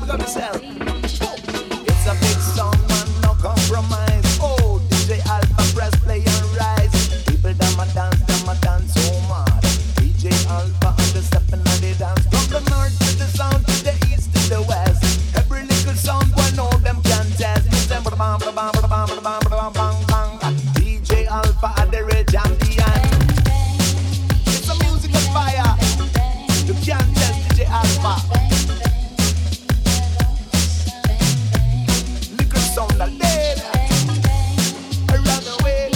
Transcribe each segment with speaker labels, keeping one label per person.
Speaker 1: It's a big sound, man, no compromise. Oh, DJ Alpha, press play and rise. People them a dance so mad. DJ Alpha on the stepping and they dance. From the north to the south, to the east to the west. Every little sound, one know them can test. DJ Alpha at the red champion. It's a musical fire. You can't test DJ Alpha. Sound a dead around the way.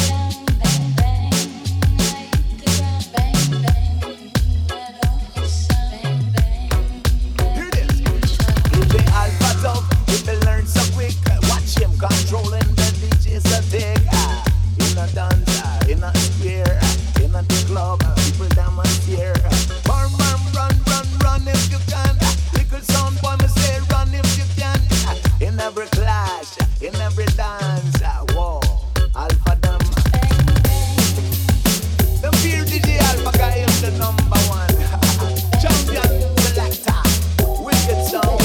Speaker 1: Here it is. DJ Alpha tough, people learn so quick. Watch him controlling the DJs a dig. In a dance, in a square, in a club, people damn and stare. Run if you can. Little sound boy, me say run if you can. In every clash, in every dance, whoa, Alpha them. The fear DJ Alpha guy is the number one. Champion selector, wicked sound.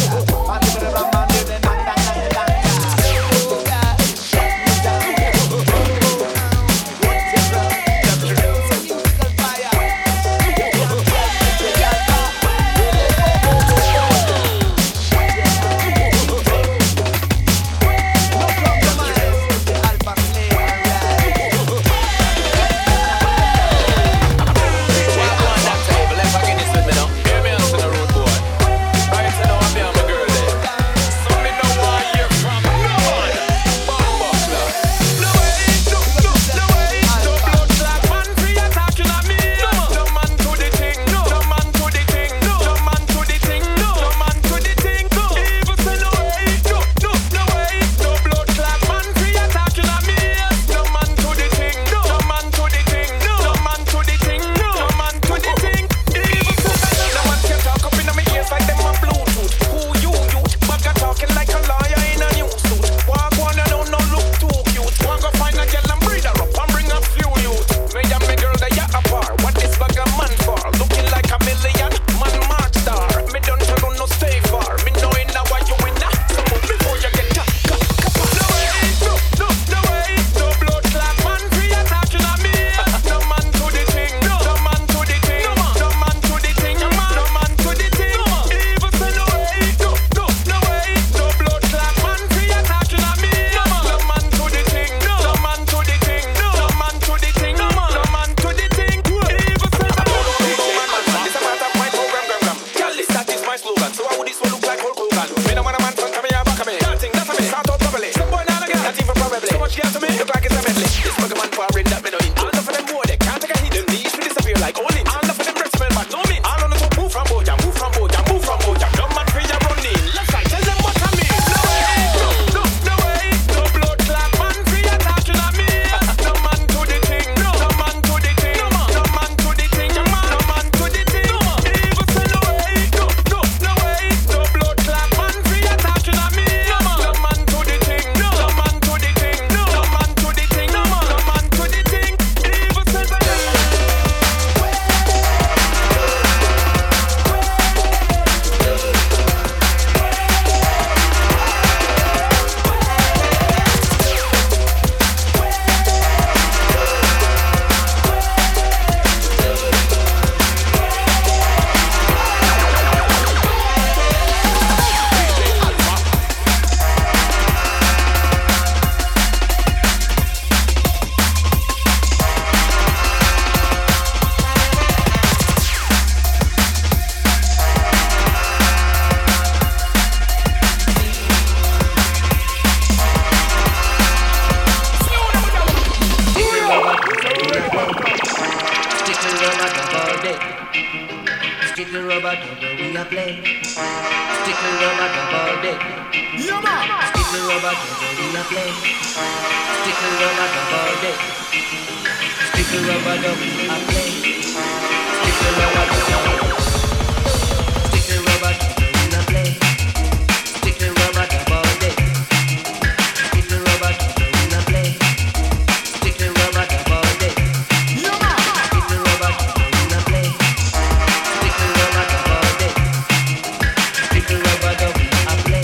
Speaker 2: I play.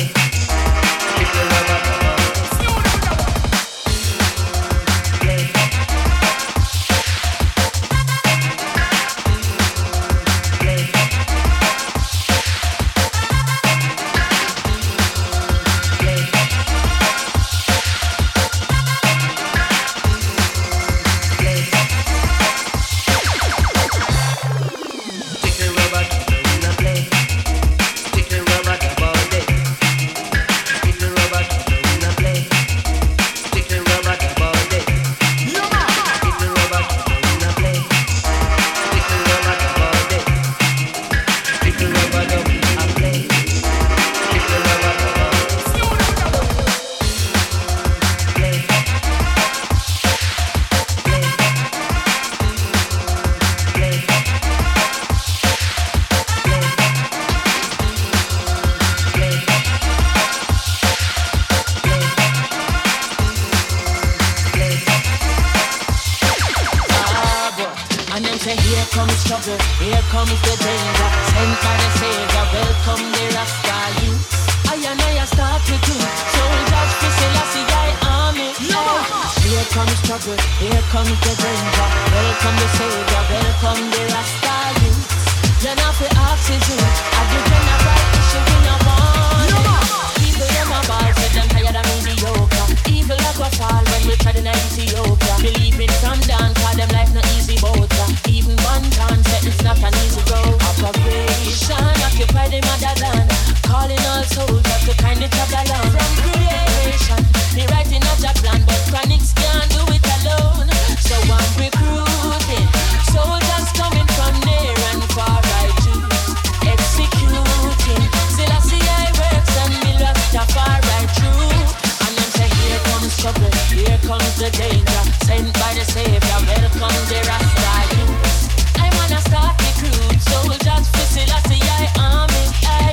Speaker 2: say here comes trouble, here comes the danger. Sent by the Savior, welcome the Rasta youth. I and I start to do soldiers for Selassie army. Here comes trouble, here comes the danger. Welcome the Savior, welcome the Rasta youth. You're not for oxygen, I do general issue in a warning. People in my ball said them tired of mediocre. Evil like a fall when we tried in Ethiopia. Believing from down, cause them life no easy boat. Even one can said it's not an easy road. Operation, occupy the motherland. Calling all soldiers to kind each other along. From creation, he writing out a plan, but chronics can't do it alone. So I'm recruiting soldiers coming from near and far. I choose executing. Selassie I works and me Rastafari true. And them say here comes trouble, here comes the danger. Sent by the Savior, welcome the Rasta youth. I wanna start recruit soldiers for Selassie I army.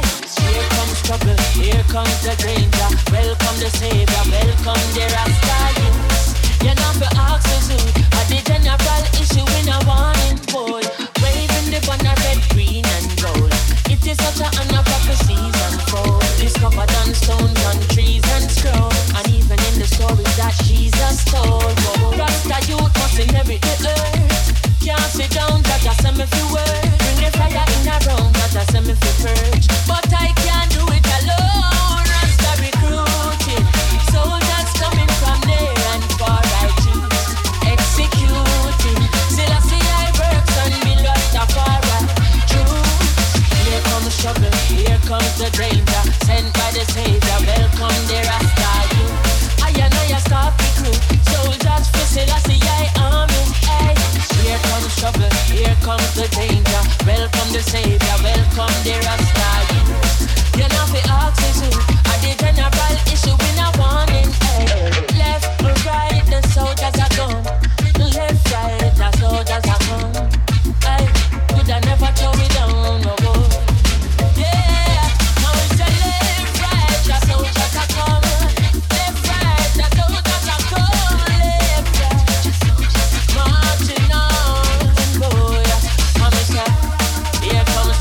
Speaker 2: Here comes trouble, here comes the danger. Welcome the Savior, welcome the Rasta youth. You're not for oxygen, or the general issue in a warning boy. Waving the banner red, green and gold. It is such an honor prophecies unfold. Discovered on stones, on trees and scroll. And even in the stories that Jesus told. Rasta youth must inherit the earth. Can't sit down, that I send me for work. Bring the fire in a room, that I send me for purge. But I can't do it alone. Rasta recruiting soldiers coming from near and far. I choose executing. Selassie I works and me Rastafari true. Here comes trouble, here comes the danger. Sent by the Savior, welcome the Rasta youth. I and I start recruit soldiers for Selassie I army. Here comes trouble, here comes the danger. Welcome the Savior, welcome the Rasta youth. You're not for oxygen, or the general issue in a warning. Left or right, the soldiers are gone. Left, right, the soldiers are gone. Could I never throw it down, no more. Yeah, now it's a left, right, the soldiers are coming. Left, right, the soldiers are coming. Left, right, marching on, boy. Here comes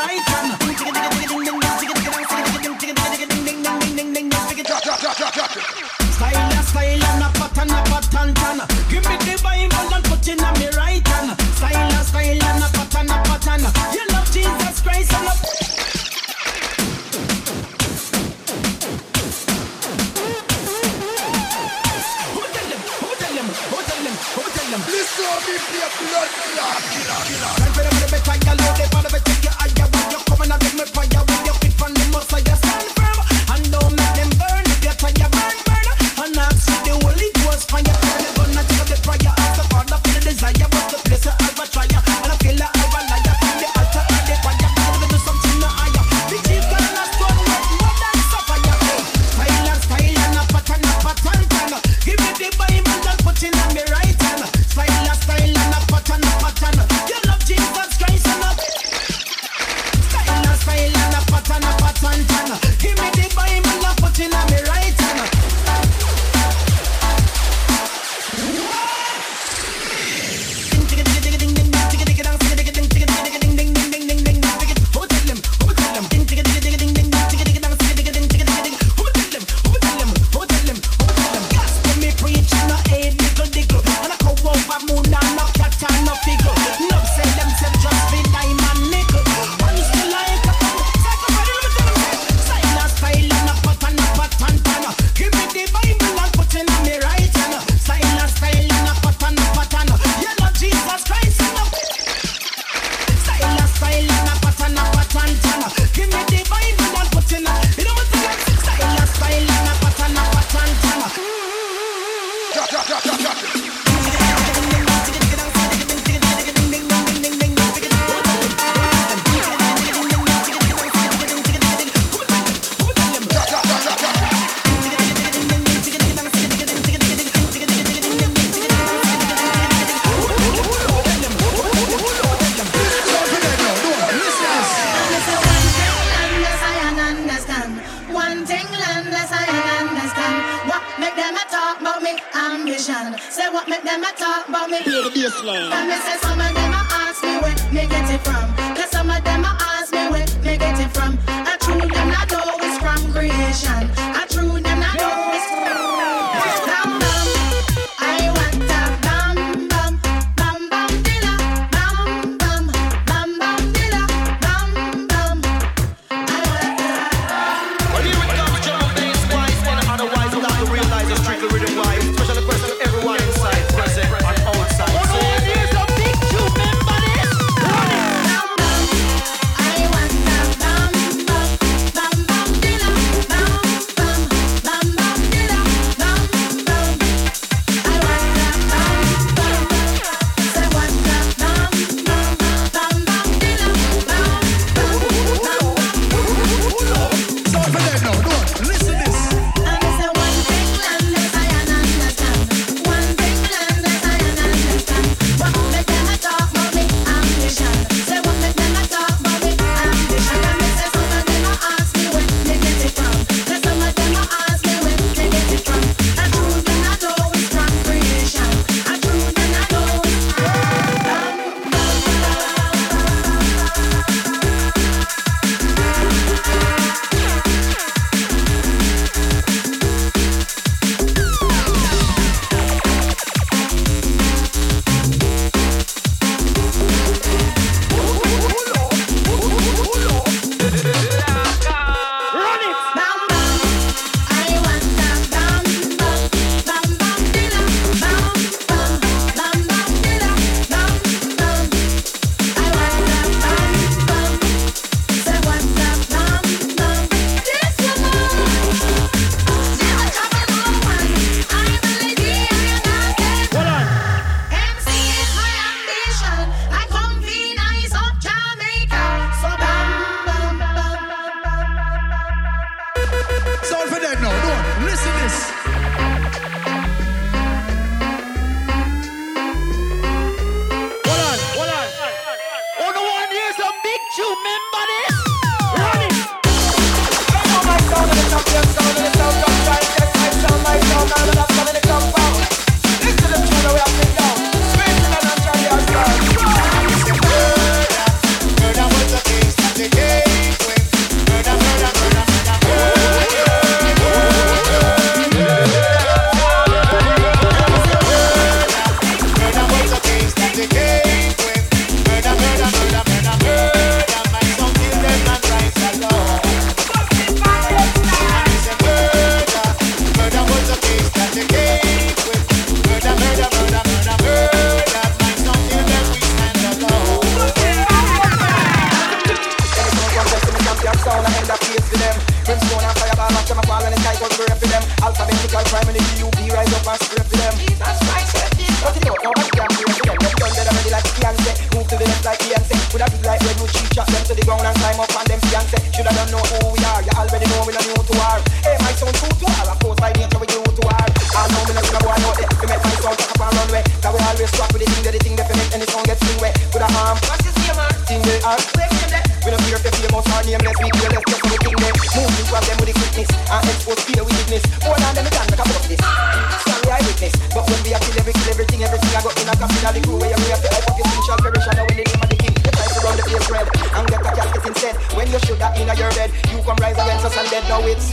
Speaker 3: right hand. Style and a pattern, give me the Bible and put it in me right hand. Style and a pattern. You love Jesus Christ and love. Who tell them?
Speaker 1: Listen to me, play blood killer.
Speaker 3: Time for the better, you load it, for the better, you higher. When you come and give me fire, when you fit from the muscle, you stand firm. And don't make them burn, if you tire, burn. And ask you the Holy Ghost fire. You're gonna take up the prayer, ask the Father for the desire. But the place I have a trial, and I feel like I'm a liar. From the altar and the fire, I'm gonna do something higher. The chief and the strong, more than sapphire. Style and a pattern. Give me the Bible and put it in me right hand. Style and a pattern. You love Jesus Christ and love. Style and a pattern. Give me the Bible and put it in me right hand. Say what make them a talk about me.
Speaker 4: Play the bassline.
Speaker 3: And me say some of them a ask me where me get it from. Cause some of them a ask me where me get it from. I true them not know it's from creation. I true them not know it's from. Bam bam, I want that bam bam, bam bam dilla, bam bam, bam bam dilla, bam bam. I want that.
Speaker 5: Well, here it comes, drum and bass wise, and otherwise without to realize it's strictly rhythm wise. Special request to everyone inside, present and outside. Oh no, and here's a big tune, remember this? Run it!
Speaker 3: Bam bam, I want that bam bam, bam bam dilla, bam bam, bam bam dilla, bam bam. I want that bam bam, say what that bam bam, bam bam dilla, bam bam, bam bam.
Speaker 1: So for them now, no, listen this.
Speaker 3: And me say one thing landless I understand. One thing landless I understand. What make them a talk about me ambition? Say what make them a talk about me ambition? And me say some of them a ask me where they get it from. Cause some of them a ask me where they get it from. I true them not know it's from creation. I true them not know it's from.
Speaker 5: Run it!
Speaker 3: Bam bam, I want that bam bam, bam bam dilla, bam bam, bam bam dilla, bam bam. I want that bam bam, say what that bam bam. This woman, she's a trouble woman. I'm a lady, I am not dead.
Speaker 5: Hold on.
Speaker 3: MC is my ambition. I come be nice up Jamaica. So bam bam bam bam bam.
Speaker 1: So for them now, no, listen this.
Speaker 5: Hold on. Oh no, and here's a big tune, remember this? Run it!
Speaker 1: Murder was the case that they
Speaker 3: red root cheap shot them to the ground and climb up on them fiancé. Shoulda don't know who we are, you already know we not new to war. Hey, my sound true to war, of course by nature we new to war. I know me not gonna go and know that we make my sound back up and run way. That we always rock with the thing that fi make any song get swing way. With a arm, what's his name, man? Thing they are, where's him there? We don't fear if they famous or nameless, we fearless, just for the king them. Move to grab them with the quickness, and expose fear with witness. More than them, we can make a bust this. Sorry, I witness, but when we are kill everything I got in a coffin of the crew where you have to hype up your skin shall perish. And when the name of the king, you try to run the place red and get a casket instead. When you should have in your bed, you come rise against us and dead. Now it's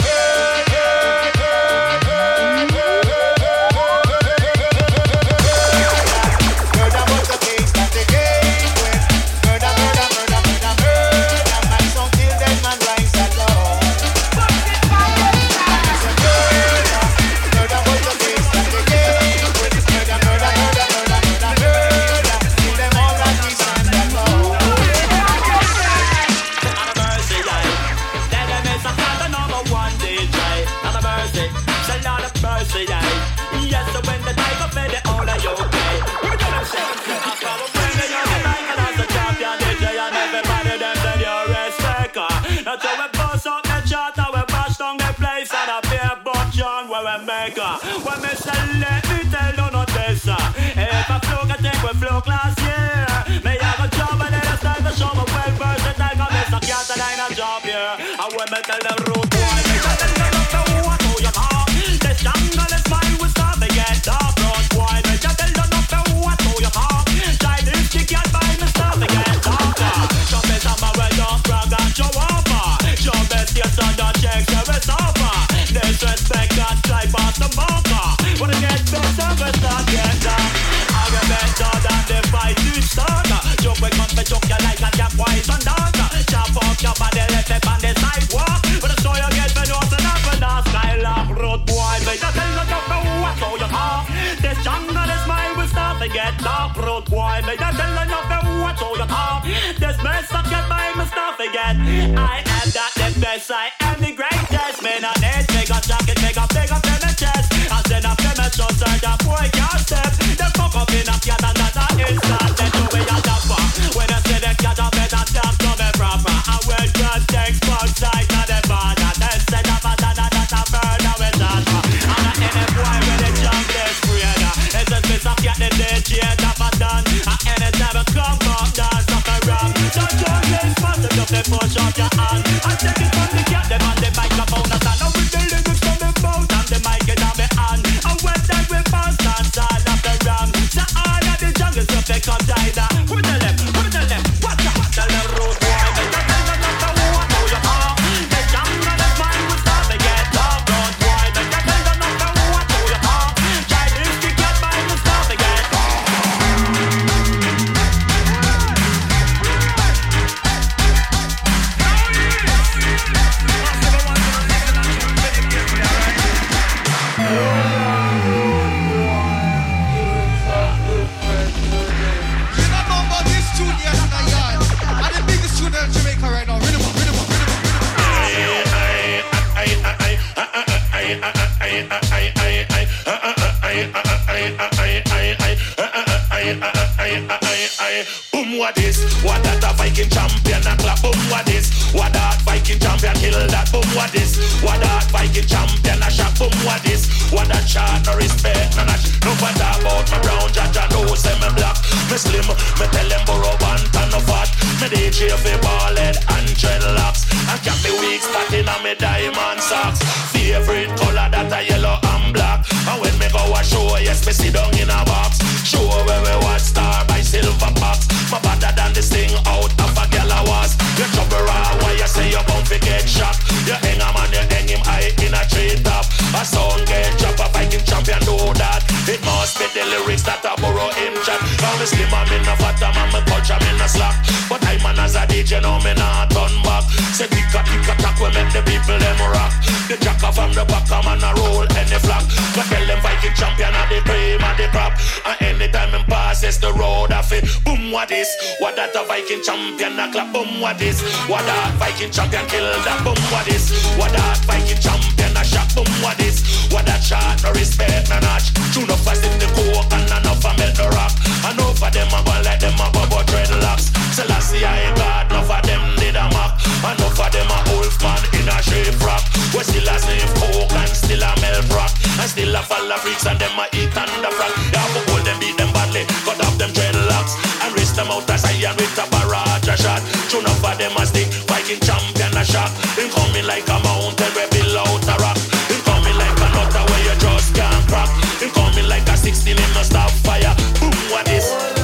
Speaker 4: when me say let me tell you no this. If I flow, I think we flow last year. Me have a job and then it's time to show me well versatile. Cause Mr. Catalina job here. And when me tell them road boy, me tell them no what do you call. The jungle is mine, we start to get dark. Road boy, me tell them no what do you call. Try this chick out by me start to get darker. Show me some of where you brag and show over. Show best your son don't check your over. Disrespect and try past the marker. Wanna get better, but not get down. I get better than the fight to start. Joke with me, joke you like a cap white and dark. Chop off your body, left it on the sidewalk. But I saw you get me north and up and down Skylark Road boy. But you tell you don't know what so you talk. This jungle is mine, we start to get dark. Road boy, but you tell you don't know what so you talk. This mess up get mine, we start to get. I am that the best, I am the greatest. Man on it, make a jacket, make a big up in the chest. I send up to my show, sir, that boy can't step. The fuck up in a cat and that instant. Then you way out that far. When I say the cat, I better stop to me proper. I will just take spot side to the border. Then send up a that further with that. I'm not any boy with the jungle is greater. It's just piece of cat in the chair that I done. And anytime I come up, dance up around. So jungle is massive, just they push off your hand. I take it from the cat, them on the microphone. I stand up with the lyrics from the mouth and the mic in my hand. And when that we pass, dance all of the round. So all of the jungle stuff they come tighter. Who tell them, watch out, tell them road boy. They don't tell them not to what do you have. The jungle is mine, we start to get dark. Road boy, they don't tell them not to what do you have. Try this to get mine, we start to get dark.
Speaker 6: Boom, what this? What that a Viking champion a clap? Boom, what this? What that Viking champion kill that? Boom, what this? What that Viking champion a shot? Boom, what this? What that shot no respect no notch? No matter about my brown judge, I know say me black. Me slim, me tell them borrow one ton of fat. Me DJ fi ball head and dreadlocks. I got me weak spot in a me diamond socks. Favorite color that a yellow and black. And when me go a show, yes me sit down in a box. Show where we watch star by silver box. My better than this thing out of a gal I was. You trouble raw, why you say you're bound to get shot? You hang a man, you hang him high in a tree top. A sound get drop, a Viking champion do that. It must be the lyrics that I borrow him chat. Now me slim, I'm in a fat, I'm me culture, I'm in a slack. But I man as a DJ, now me not turn back. Say tick a tack, we make the people them rock. The jacker from the back, I'm on a roll any flag. But tell them Viking champion are the cream and the crop. And anytime him passes the road, I feel boom, what is? What that a Viking champion a clap? Boom, what is? What that Viking champion kill that? Boom, what is? What that Viking champion a shop. Boom, what this? What that shot? No respect, no notch. Too enough fast in the coke and enough I melt the rock. Enough of them a go like them a bubble dreadlocks. Selassie I ain't got enough of them did a mock. Enough of them a wolfman in a shape rock. We still a slave coke and still a melt rock. And still a fall of freaks and them a eat under frog. They have to hold them, beat them badly, cut off them dreadlocks and wrist them out as iron with a barrage a shot. Tune up for them a stick, Viking champion a shot. Him coming like a mountain where below a rock. Him coming like a nutter where you just can't crack. Him coming like a 16 him no stop fire. Boom, what is?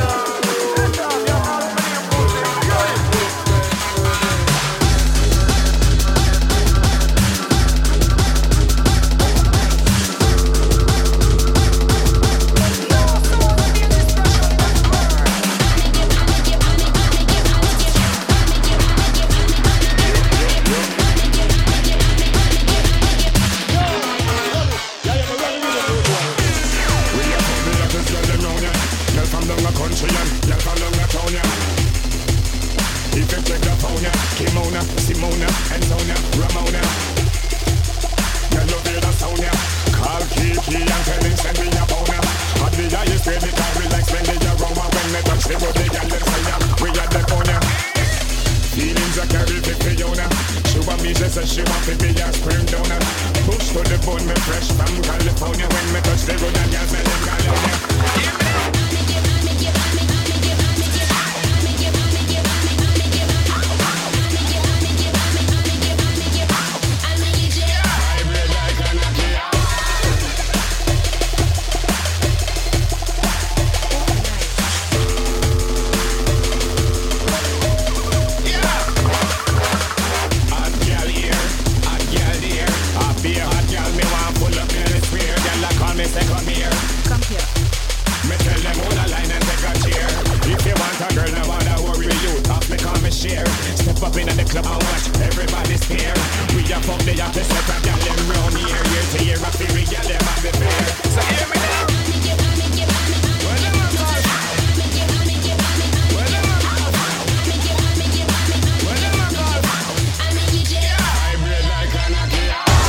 Speaker 7: Kimona, Simona, Antonia, Ramona. Can you feel the sound, yeah? Call Kiki and tell him send me a boner. At the highest grade, the car relax when they aroma. When they touch the road, they get them fire. We got the boner. Feelings are carried with Fiona. She want me just as she want to be a sperm donor. Push to the bone, me fresh from California. When me touch the road, and y'all smell them California. Step up in the club and watch everybody stare. We are from the yacht, set up y'all them round here. Year to year, I feel real, them have the fair. So hear me now. Well, them are called. Well, them are called. Well, them are called. I breathe like anarchy.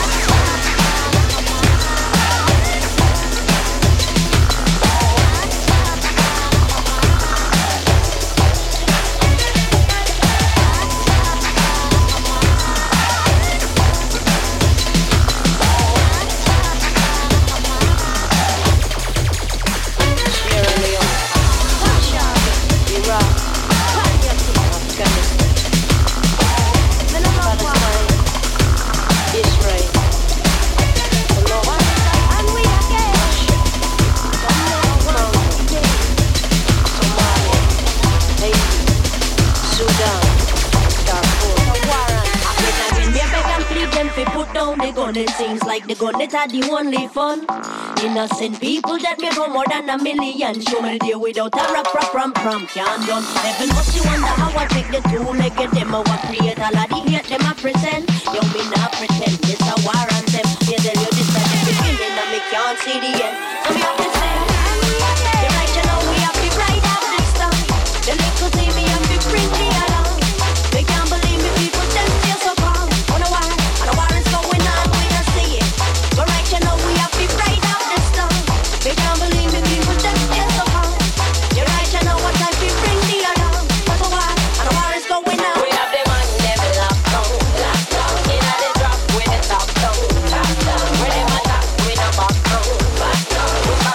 Speaker 8: It seems like the gun that are the only fun. Innocent people that make more than $1 million. Show me the day without a rap from can't done. Heaven must you wonder how I take the two-legged them. I want create all of the hate them I present. Yo, me not pretend, it's a war on them. They tell you this at the beginning and me can't see the end. So me have to say, you're right, you know we have to ride out this stuff. The little see me have to bring me along. They can't believe me, people them feel so calm. Wonder why, and the war is going on. But right, you know we have to ride out this stuff. They can't believe me, people just feel so hard. You're right, you know what time to bring the alarm. But the war, and the war is going on. We have the man, them locked down. In a the drop, with the top down. Where them attack, we no back down.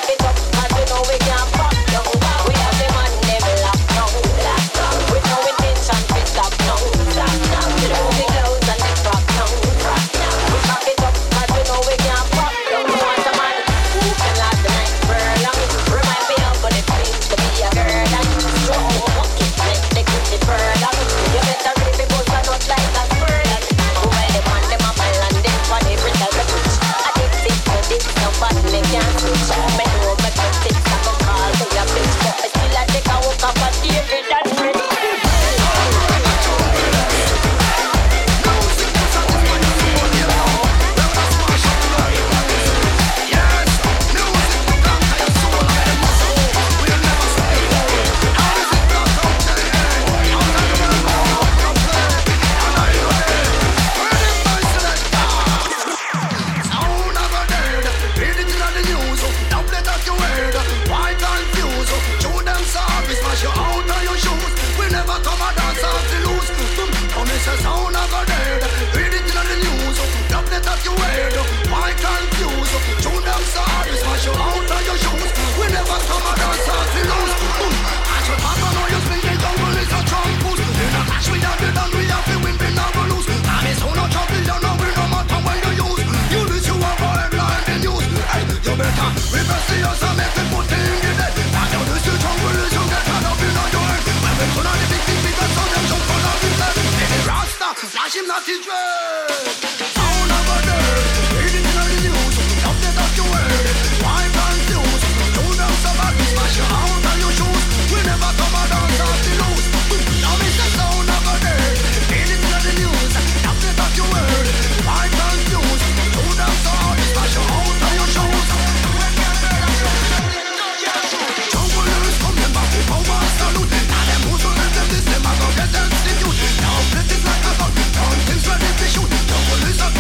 Speaker 3: smash him not his dread. Sound of a dirt, reading in the news, update of your word. Why confused? You know somebody smash you out of your shoes. We never come and dance off the loose. Now it's the sound of a dirt, reading in the news, update of your word. Why confused? You know somebody smash you out of your shoes. Junglers coming back with power salute. Now them who's on them this, them a go get institute. Now play this like a gun, now things ready to shoot. Junglers are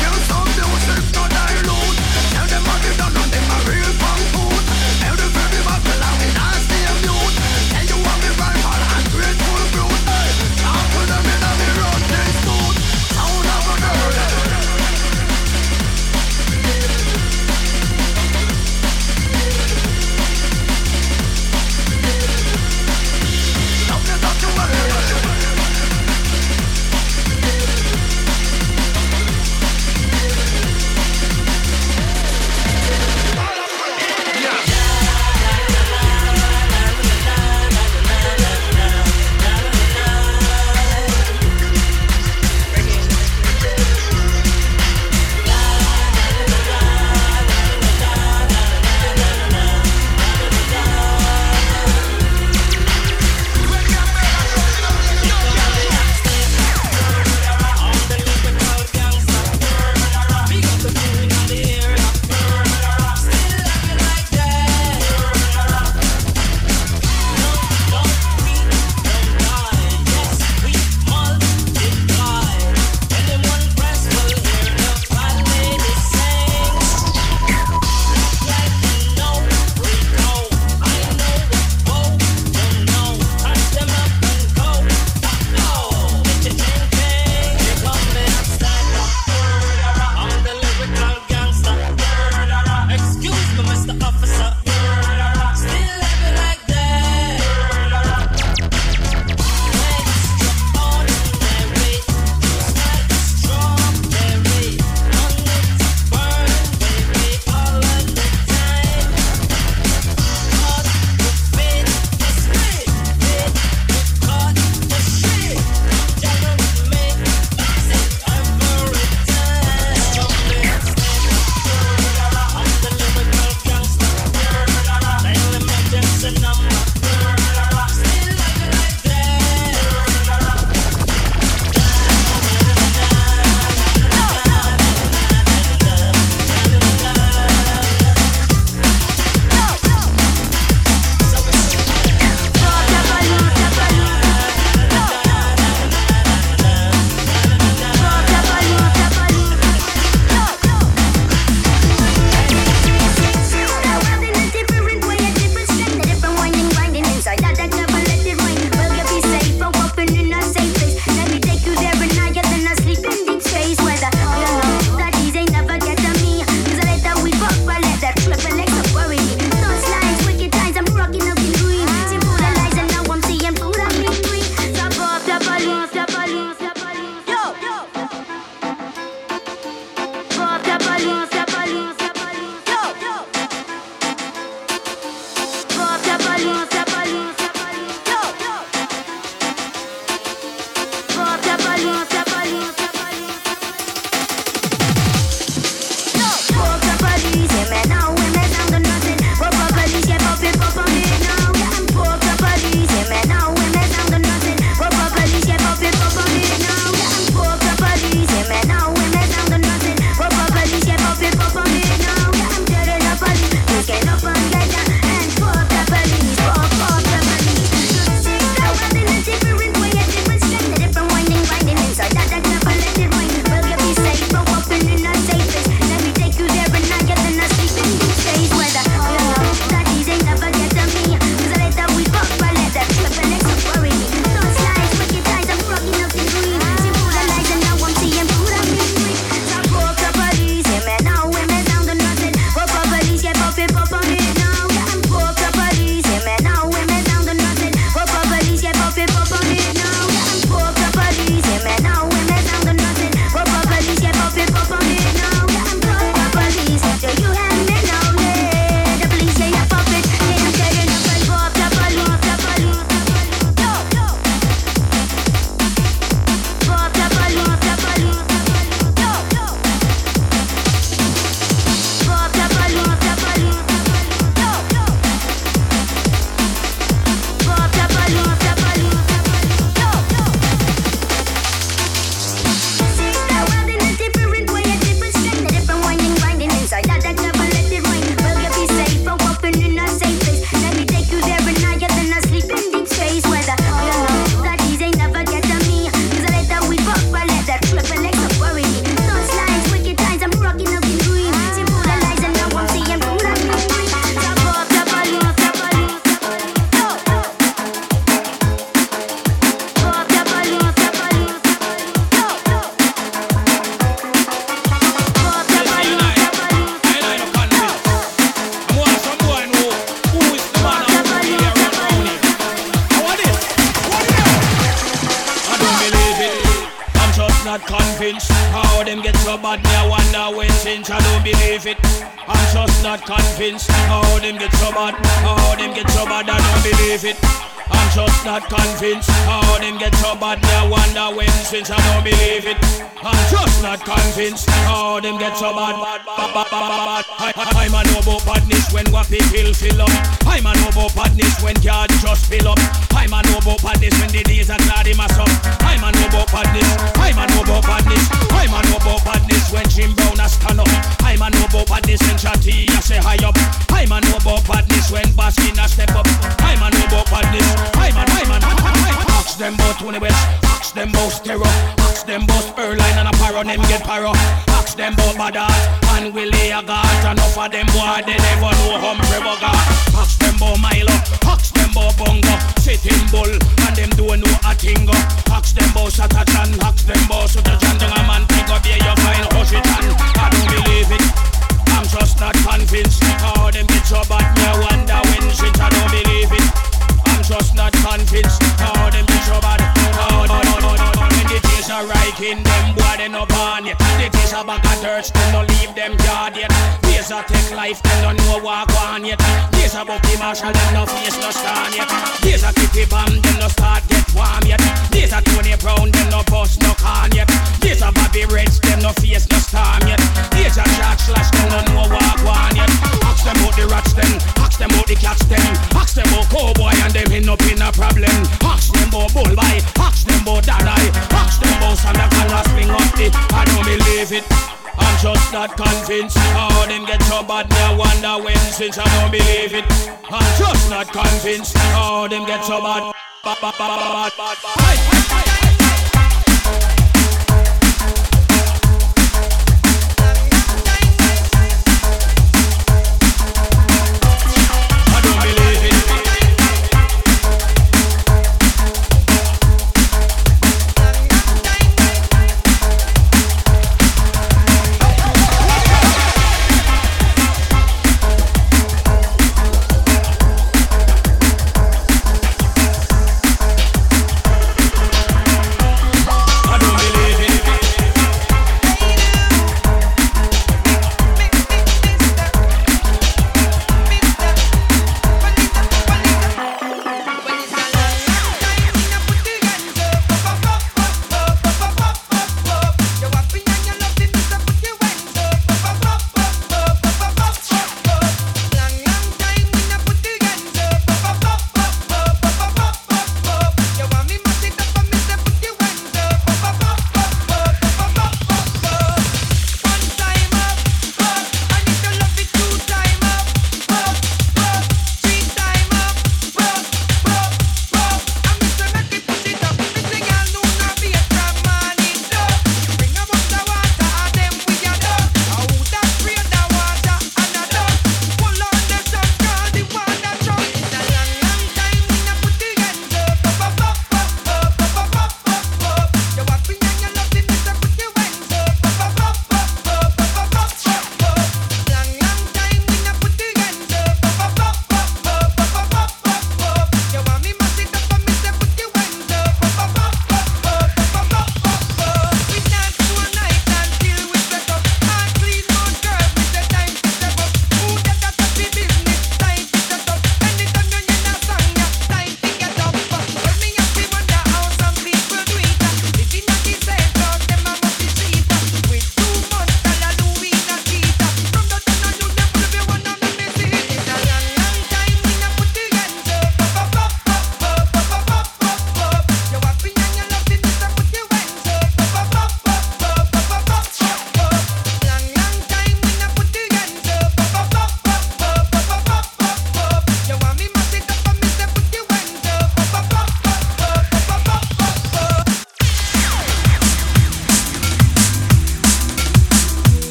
Speaker 9: just not convinced. How them get so bad, me I wonder when, since I don't believe it. I'm just not convinced. How them get so bad, how them get so bad, I don't believe it. I'm just not convinced. How them get so bad, me I wonder when, since I don't believe it. I'm just not convinced. How them get so bad. I'm a know about badness when wappy fill up. I'm a know about badness when yard just fill up. I'm a know about badness when the days are cloudy mass up. I'm a know about badness. I'm a know about badness. I'm a know about badness when Jim Brown a stand up. I'm a know about badness when Chatty a say high up. I'm a know about badness when Baskin a step up. I'm a know about badness. Ask them about Tony West, ask them about Stereo, ask them about Erline and a Paro, them get Paro. Ask them about Badat and Willie Agat, enough of them boy they never know Humphrey Bogart. Ask them about Milo, ask them about Bongo, Sitting Bull, and them don't know a tingo. Ask them about Satachan, ask them about Sutachan, don't a man think of you find Hoshitan. I don't believe it, I'm just not convinced. How them get so bad, me I wonder when, since I don't believe it. I'm just not convinced. How them be so bad. When the days are right in them, boy they no born yet. The days are back at dirt, them no leave them yard yet. Days are take life, them no know walk on yet. Days are Bucky Marshall, them no face no stand yet. Days are Kitty Bam, them no start get warm yet. Days are Tony Brown, them no bust no can yet. Days are Bobby Reds, them no face no storm yet. Days are Jack Slash, them no know walk on yet. Ask them about the rats them, ask them about the cats them, ask them about Cowboy and them end up in a problem. Ask them about Bullby, ask them about Dadai, ask them about Santa Claus swing up the. I don't believe it, I'm just not convinced. How them get so bad, me I wonder when, since I don't believe it. I'm just not convinced. How them get so bad.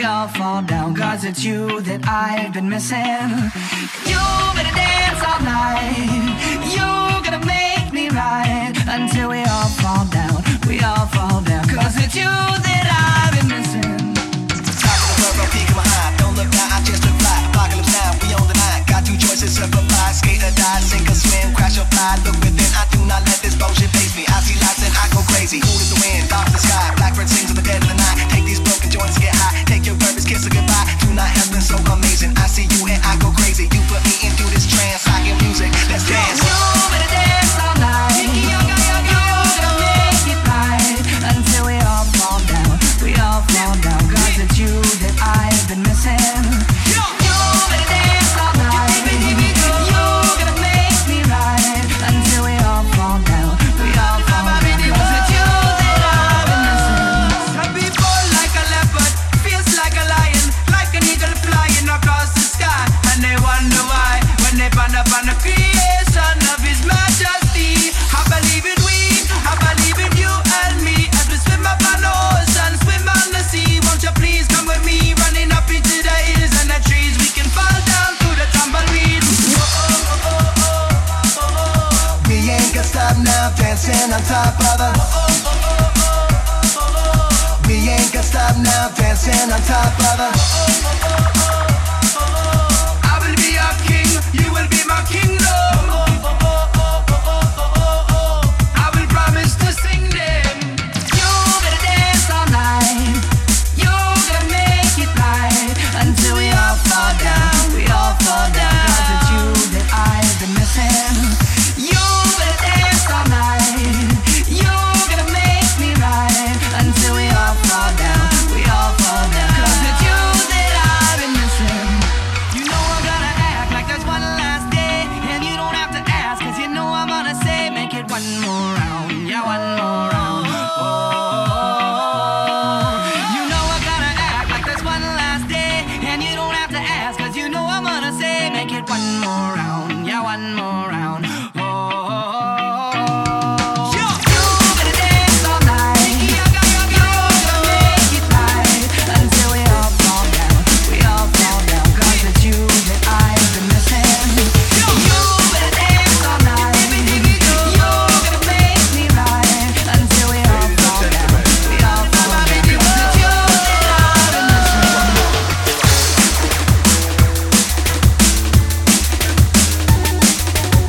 Speaker 3: we all fall down. Cause it's you that I've been missing. You better dance all night. You gonna make me right until we all fall down. We all fall down. Cause it's you that I've been missing.
Speaker 10: Top of the world, peak of my eye. Don't look now, I just reply. Apocalypse now, we on the line. Got two choices, survive, skate or die, sink or swim, crash or fly. Look within, I do not let this bullshit face me. I see lights and I go crazy. Cool as the wind, dark as the sky. Blackbird sings in the dead of the night. Take these broken joints, get high. Take your purpose, kiss a goodbye. Tonight has been so amazing. I see you and I go crazy. You put me into this trance. I hear music, let's dance.
Speaker 3: You better dance all night. You gonna make it right until we all fall down. We all fall down. Cause it's you that I've been missing. You better dance all night. You gonna make me right until we all fall down. We all fall down. Cause it's you that I've been missing.
Speaker 11: Some people like a leopard, feels like a lion, like an eagle flying across the sky. And they wonder why when they find up on the creation of His Majesty. I believe in we, I believe in you and me. As we swim up on the ocean, swim on the sea. Won't you please come with me, running up into the hills and the trees. We can fall down to the tumbleweeds.
Speaker 10: We ain't gonna stop now, dancing on top of the. We ain't gonna stop now, dancing on top of the.
Speaker 11: I will be your king, you will be my kingdom. I will promise to sing them.
Speaker 3: You better dance all night. You gonna make it right until we all fall down. We all fall down. Cause it's you that I've been missing. You better dance all night. You gonna make me right until we all fall down. We all fall down. Cause it's you that I've been missing.
Speaker 11: You know I'm gonna act like there's one last day, and you don't have to ask, cause you know I'm gonna say, make it one more round, yeah, one more round. Oh, you know I'm gonna act like there's one last day, and you don't have to ask, cause you know I'm gonna say, make it one more round, yeah, one more round.
Speaker 3: You better dance all night. You gonna make it right until we all fall down. We all fall down. Cause it's you that I've been missing. You better dance all night. You gonna make me right until we all fall down. We all fall down. Cause it's you that I've been missing.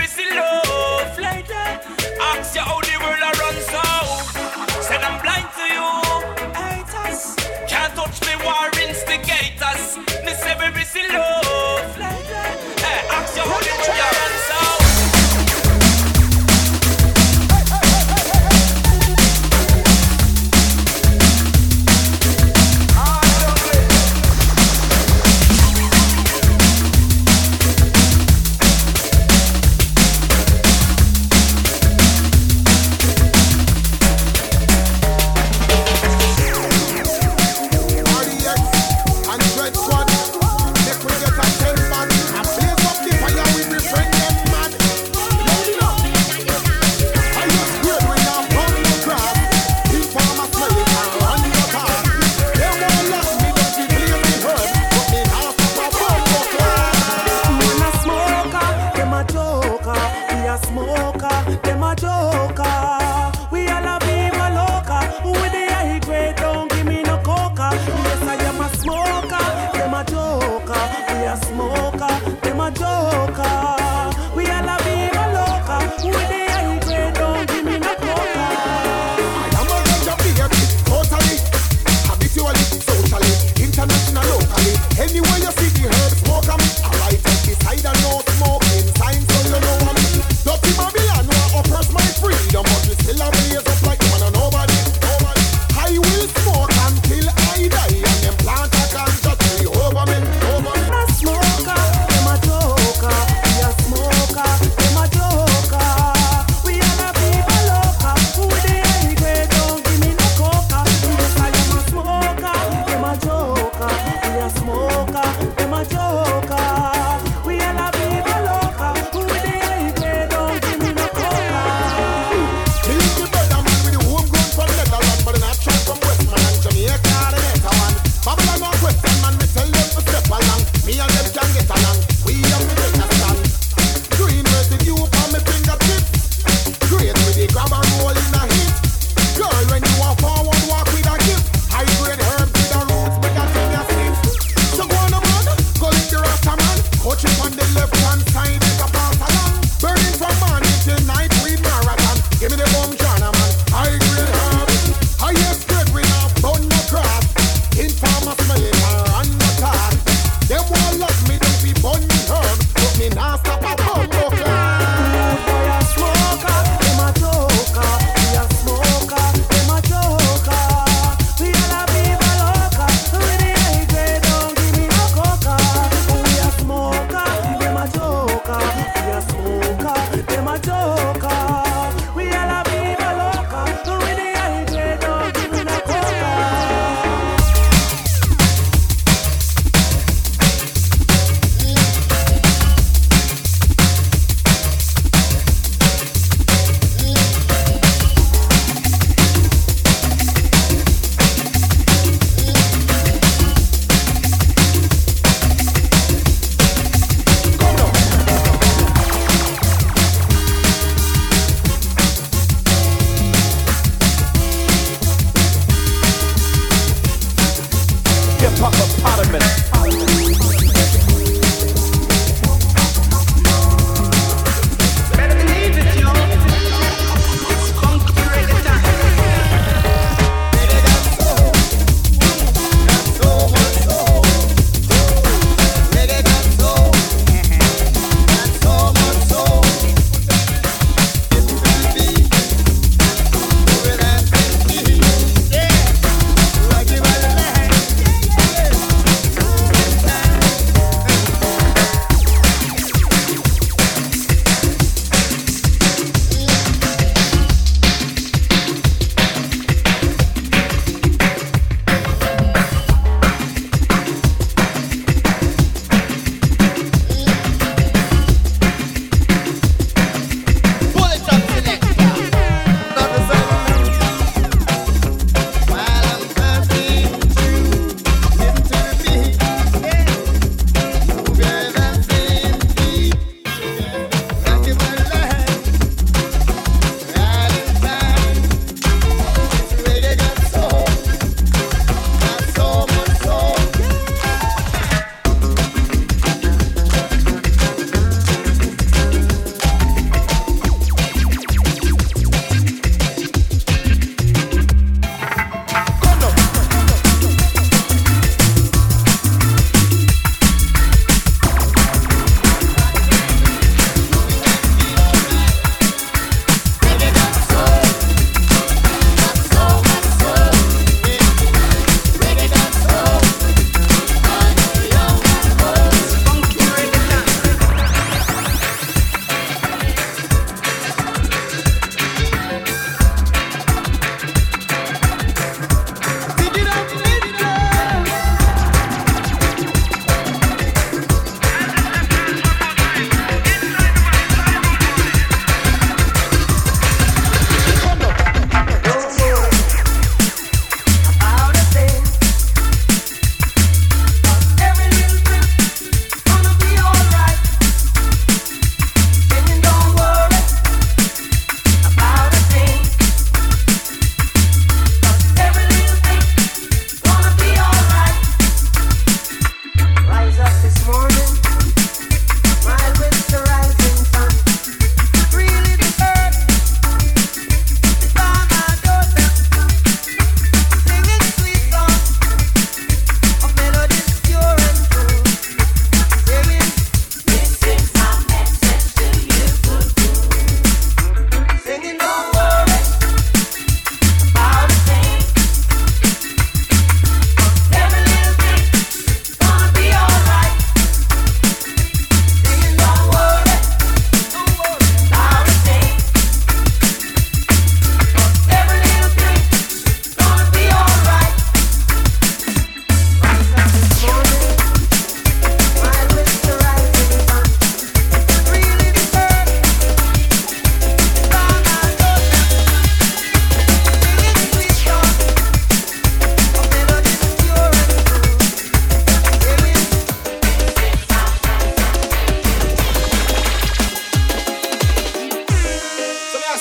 Speaker 6: missing love lately. Ask you how the world a run so. Said I'm blind to you, haters. Can't touch me, war instigators. Me say we missing love lately. Hey, ask you how the world a run so. My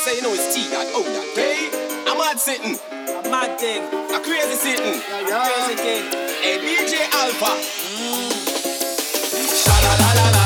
Speaker 12: say you know it's T that, oh that, hey? I'm mad sitting.
Speaker 13: A mad thing.
Speaker 12: A crazy sitting.
Speaker 13: Yeah. Crazy thing.
Speaker 12: Hey, DJ Alpha. Sha la la la la.